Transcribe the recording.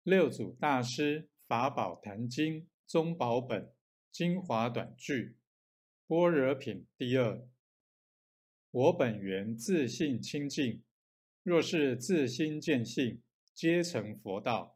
六祖大师法宝坛经宗宝本精华短句般若品第二。我本源自性清净，若是自心见性，皆成佛道。